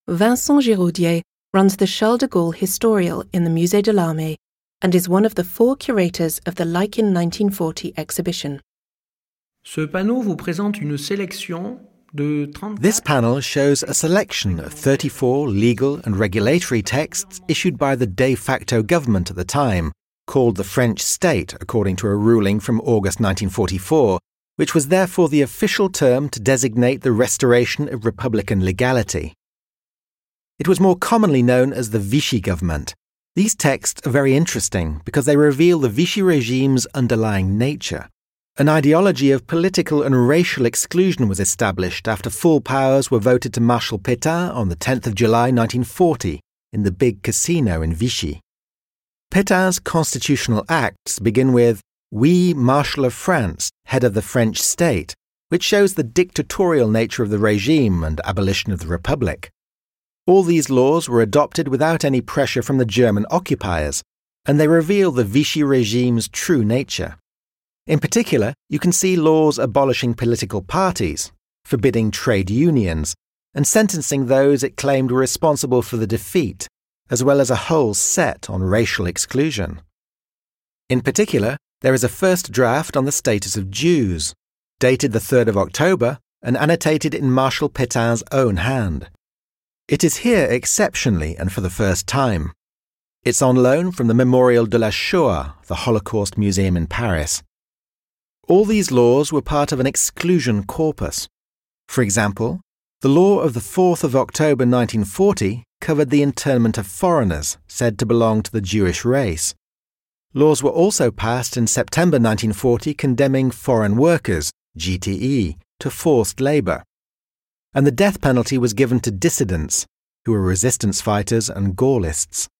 Vincent Giraudier runs the Charles de Gaulle Historial in the Musée de l'Armée and is one of the 4 curators of the Like in 1940 exhibition. Ce panneau vous présente une sélection de 34... This panel shows a selection of 34 legal and regulatory texts issued by the de facto government at the time, called the French State according to a ruling from August 1944, which was therefore the official term to designate the restoration of republican legality. It was more commonly known as the Vichy government. These texts are very interesting because they reveal the Vichy regime's underlying nature. An ideology of political and racial exclusion was established after full powers were voted to Marshal Pétain on the 10th of July 1940 in the big casino in Vichy. Pétain's constitutional acts begin with "We, Marshal of France, head of the French state," which shows the dictatorial nature of the regime and abolition of the Republic. All these laws were adopted without any pressure from the German occupiers, and they reveal the Vichy regime's true nature. In particular, you can see laws abolishing political parties, forbidding trade unions, and sentencing those it claimed were responsible for the defeat, as well as a whole set on racial exclusion. In particular, there is a first draft on the status of Jews, dated the 3rd of October and annotated in Marshal Pétain's own hand. It is here exceptionally and for the first time. It's on loan from the Memorial de la Shoah, the Holocaust Museum in Paris. All these laws were part of an exclusion corpus. For example, the law of the 4th of October 1940 covered the internment of foreigners said to belong to the Jewish race. Laws were also passed in September 1940 condemning foreign workers, GTE, to forced labour. And the death penalty was given to dissidents, who were resistance fighters and Gaullists.